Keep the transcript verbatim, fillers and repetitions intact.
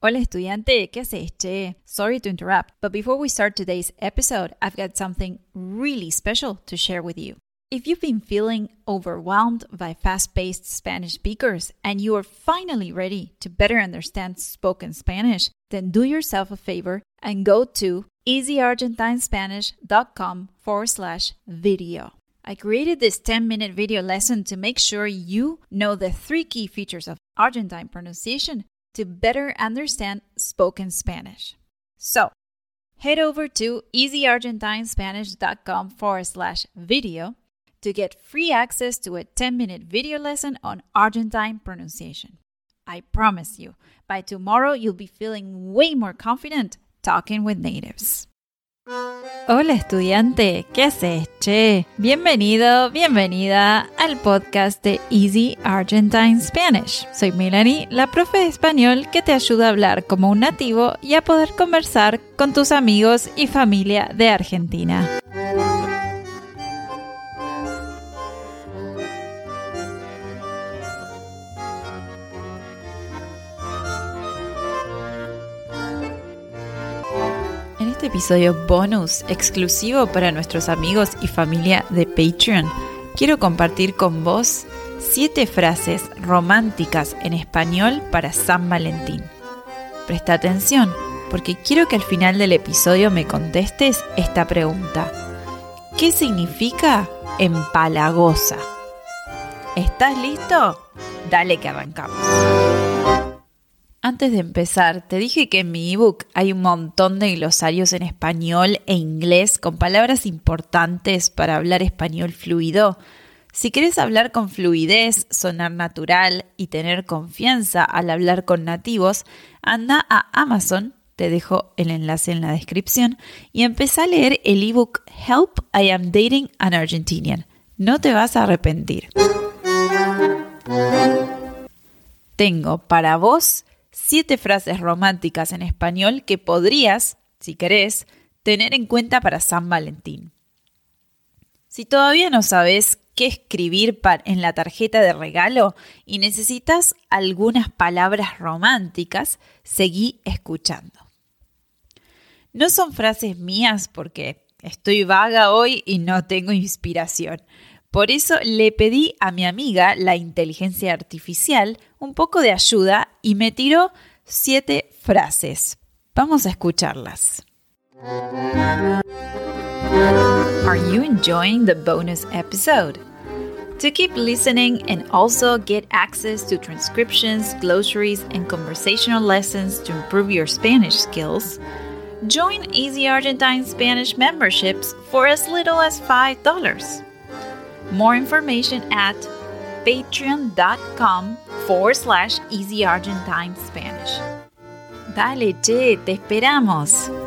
Hola estudiante, ¿qué haces, che? Sorry to interrupt, but before we start today's episode, I've got something really special to share with you. If you've been feeling overwhelmed by fast-paced Spanish speakers and you are finally ready to better understand spoken Spanish, then do yourself a favor and go to easyargentinespanish.com forward slash video. I created this ten-minute video lesson to make sure you know the three key features of Argentine pronunciation to better understand spoken Spanish. So, head over to easyargentinespanish.com forward slash video to get free access to a ten-minute video lesson on Argentine pronunciation. I promise you, by tomorrow you'll be feeling way more confident talking with natives. Hola estudiante, ¿qué haces, che? Bienvenido, bienvenida al podcast de Easy Argentine Spanish. Soy Melanie, la profe de español que te ayuda a hablar como un nativo y a poder conversar con tus amigos y familia de Argentina. En este episodio bonus exclusivo para nuestros amigos y familia de Patreon, quiero compartir con vos siete frases románticas en español para San Valentín. Presta atención, porque quiero que al final del episodio me contestes esta pregunta. ¿Qué significa empalagosa? ¿Estás listo? Dale que arrancamos. Antes de empezar, te dije que en mi ebook hay un montón de glosarios en español e inglés con palabras importantes para hablar español fluido. Si querés hablar con fluidez, sonar natural y tener confianza al hablar con nativos, anda a Amazon, te dejo el enlace en la descripción, y empezá a leer el ebook Help, I Am Dating an Argentinian. No te vas a arrepentir. Tengo para vos siete frases románticas en español que podrías, si querés, tener en cuenta para San Valentín. Si todavía no sabes qué escribir en la tarjeta de regalo y necesitas algunas palabras románticas, seguí escuchando. No son frases mías porque estoy vaga hoy y no tengo inspiración. Por eso le pedí a mi amiga, la inteligencia artificial, un poco de ayuda y me tiró siete frases. Vamos a escucharlas. Are you enjoying the bonus episode? To keep listening and also get access to transcriptions, glossaries, and conversational lessons to improve your Spanish skills, join Easy Argentine Spanish memberships for as little as five dollars. More information at patreon.com forward slash Easy Argentine Spanish. Dale, che, te esperamos.